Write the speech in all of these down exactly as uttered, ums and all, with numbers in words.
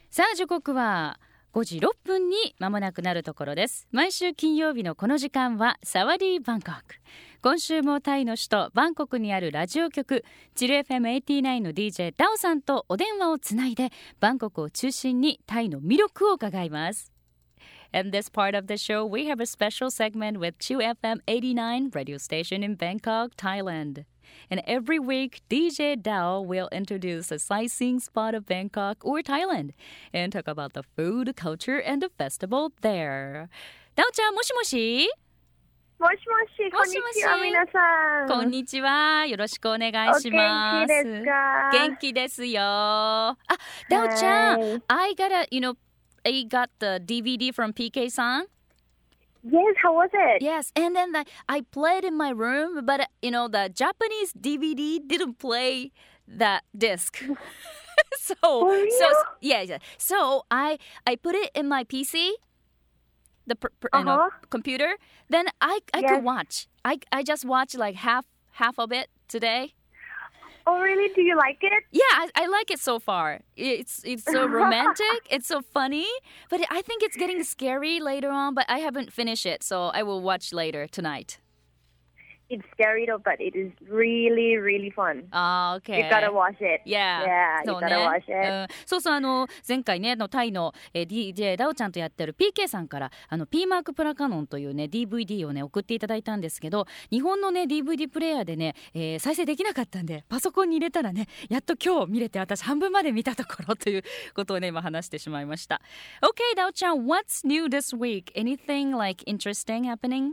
さあ時刻はごじろっぷんに間もなくなるところです。毎週金曜日のこの時間はサワディーバンコク。今週もタイの首都バンコクにあるラジオ局チル エフエムはちじゅうきゅう の ディージェー ダオさんとお電話をつないでバンコクを中心にタイの魅力を伺います。In this part of the show, we have a special segment with Chill エフエムはちじゅうきゅう radio station in Bangkok, Thailand. And every week, ディージェー Dao will introduce a sightseeing spot of Bangkok or Thailand and talk about the food, culture, and the festival there. ダオちゃん、もしもしもしもし、こんにちは、皆さん。 こんにちは。よろしくお願いします。 お元気ですか？ 元気ですよ。あ、ダオちゃん、I got a, you know, I got the ディーブイディー from ピーケー さん。 Yes, how was it? Yes, and then the, I played in my room, but you know the Japanese ディーブイディーdidn't play that disc. so, For real? so yeah, yeah. So I I put it in my P C, the pr- pr- you know, Uh-huh. computer. Then I I Yes. could watch. I I just watched like half half of it today. Oh, really? Do you like it? Yeah, I, I like it so far. It's it's so romantic. It's so funny. But I think it's getting scary later on. But I haven't finished it, so I will watch later tonight. It's scary though, but it is really, really fun. Ah, okay. You gotta watch it. Yeah. Yeah, you そうね gotta watch it. うんそうそう、あの前回ねあのタイの、えー、ディージェー ダオちゃんとやってる ピーケー さんからあの P マークプラカノンというね ディーブイディー をね送っていただいたんですけど、日本のね ディーブイディー プレイヤーでね、えー再生できなかったんでパソコンに入れたらねやっと今日見れて、私半分まで見たところということをね今話してしまいました。 Okay, ダオちゃん、 What's new this week? Anything like interesting happening?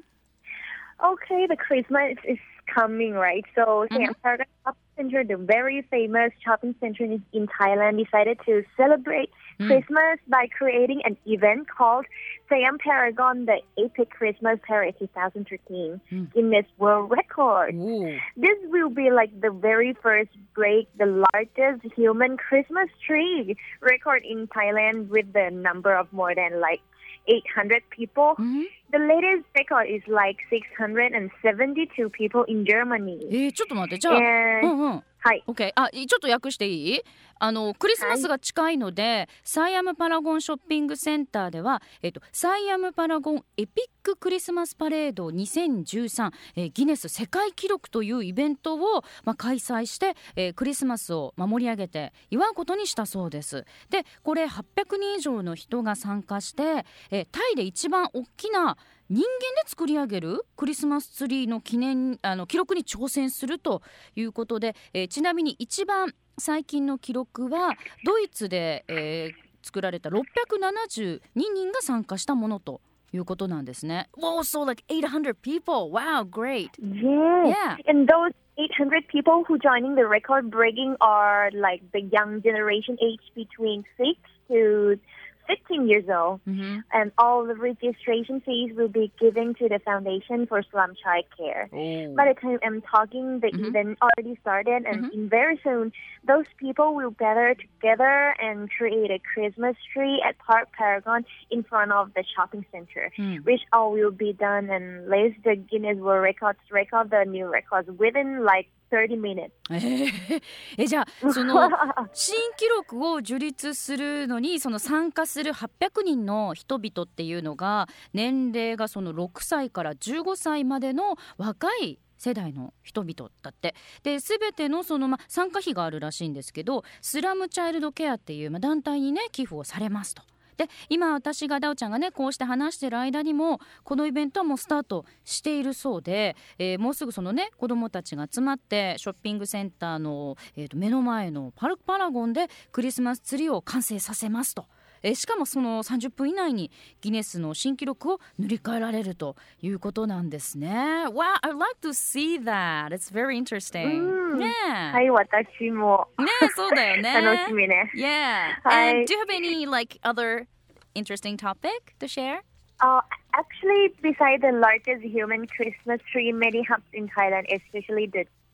Okay, the Christmas is coming, right? So, Mhm. Siam Paragon Shopping Center, the very famous shopping center in, in Thailand, decided to celebrate Mm. Christmas by creating an event called Siam Paragon, the Epic Christmas Parade twenty thirteen, Mm. Guinness World Record. Ooh. This will be like the very first break the largest human Christmas tree record in Thailand with the number of more than like eight hundred people. Mhm. The latest record is like six hundred seventy-two people in Germany. えー、ちょっと待って、じゃあ、 And うんうん、 はい。 OK、 あ、ちょっと訳していい？あのクリスマスが近いので、サイアムパラゴンショッピングセンターでは、えっと、サイアムパラゴンエピッククリスマスパレードにせんじゅうさん、えー、ギネス世界記録というイベントを、まあ、開催して、えー、クリスマスを守り上げて祝うことにしたそうです。でこれはっぴゃくにん以上の人が参加して、えー、タイで一番大きな人間で作り上げるクリスマスツリーの記念あの記録に挑戦するということで、えー、ちなみに一番最近の記録はドイツで、えー、作られたろっぴゃくななじゅうににんが参加したものということなんですね。Wow, so like eight hundred people. Wow, great. Yeah. Yeah. And those eight hundred people who joining the record breaking are like the young generation aged between six to fifteen years old. Mm-hmm. And all the registration fees will be given to the Foundation for Slum Child Care. Oh. By the time I'm talking, the Mhm. event already started, and Mhm. in very soon, those people will gather together and create a Christmas tree at Park Paragon in front of the shopping center, うん which all will be done and list the Guinness World Records record the new records within like thirty minutes. えーえじゃあその新記録を樹立するのにその参加するはっぴゃくにんの人々っていうのが年齢がそのろくさいからじゅうごさいまでの若い世代の人々だって。で全てのその、ま、参加費があるらしいんですけど、スラムチャイルドケアっていう、ま、団体にね寄付をされますと。で今私がダオちゃんがねこうして話してる間にもこのイベントはもうスタートしているそうで、えー、もうすぐそのね子どもたちが集まってショッピングセンターの、えー、と目の前のパルクパラゴンでクリスマスツリーを完成させますと。えー、しかもそのさんじゅっぷん以内にギネスの新記録を塗り替えられるということなんですね。 Wow, I'd like to see that. It's very interesting. うんねはい、私もえねえそうだよね楽しみね。 Yeah. はい And do you have any like other interesting topic to share? Uh, actually, beside the largest human Christmas tree, many hubs in Thailand, especially the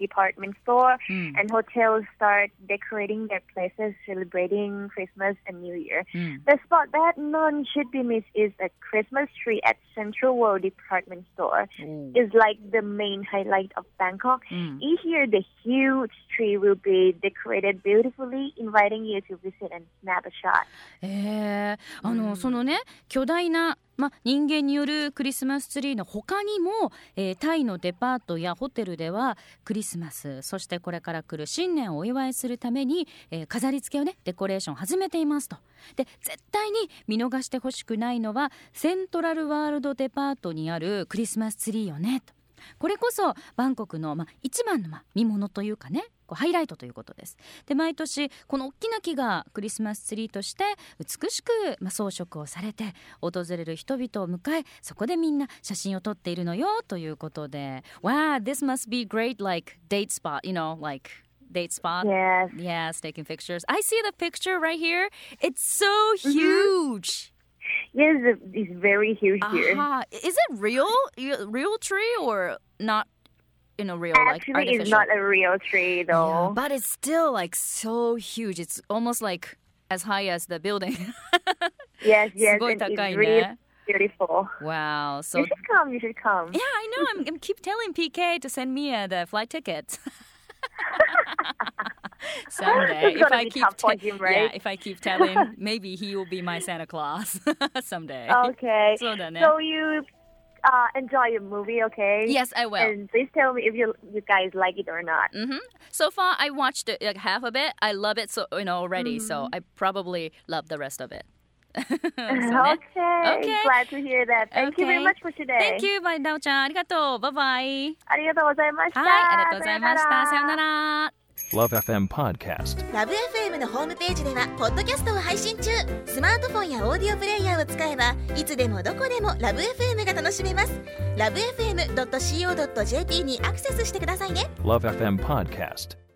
department store, Mm. and hotels start decorating their places, celebrating Christmas and New Year. Mm. The spot that none should be missed is a Christmas tree at Central World Department Store. 오. It's like the main highlight of Bangkok. 음. Each year, the huge tree will be decorated beautifully, inviting you to visit and snap a shot. えー、あの、 うんそのね巨大な、ま、人間によるクリスマスツリーの他にも、えータイのデパートやホテルではクリスマス、そしてこれから来る新年をお祝いするために、えー飾り付けをねデコレーション始めていますと。で絶対に見逃してほしくないのはセントラルワールドデパートにあるクリスマスツリーよねと。これこそバンコクの、ま、一番の、ま、見物というかねこうハイライトということです。で毎年この大きな木がクリスマスツリーとして美しく、ま、装飾をされて訪れる人々を迎えそこでみんな写真を撮っているのよということで Wow, this must be great like date spot, you know, like date spot. Yes. Yes, taking pictures. I see the picture right here. It's so huge. Yes, it's very huge here. Aha. Is it real? Real tree or not? You know, real like Actually, artificial? it's not a real tree, Yeah, though. but it's still like so huge. It's almost like as high as the building. Yes, yes, すごい and it's 高い really ね。 beautiful. Wow. So You should come. You should come. yeah, I know. I'm, I'm keep telling P K to send me uh, the flight tickets. Someday, It's if gonna I be keep tough for te- him, right? yeah, if I keep telling, maybe he will be my Santa Claus someday. Okay. そうだね。 So you uh, enjoy your movie, okay? Yes, I will. And please tell me if you you guys like it or not. hmm So far, I watched it, like half of it. I love it so you know already. So I probably love the rest of it. そうね Okay. Okay. Glad to hear that. Thank you very Okay. much for today. Thank you, バイダオちゃん。ありがとう。バイバイ。 ありがとうございました。 はい、ありがとうございました。さようなら。 Love エフエム Podcast。 ラブ エフエム のホームページではポッドキャストを配信中。スマートフォンやオーディオプレイヤーを使えばいつでもどこでもラブ エフエム が楽しめます。ラブ エフエムドットシーオードットジェーピー にアクセスしてくださいね。 Love エフエム Podcast。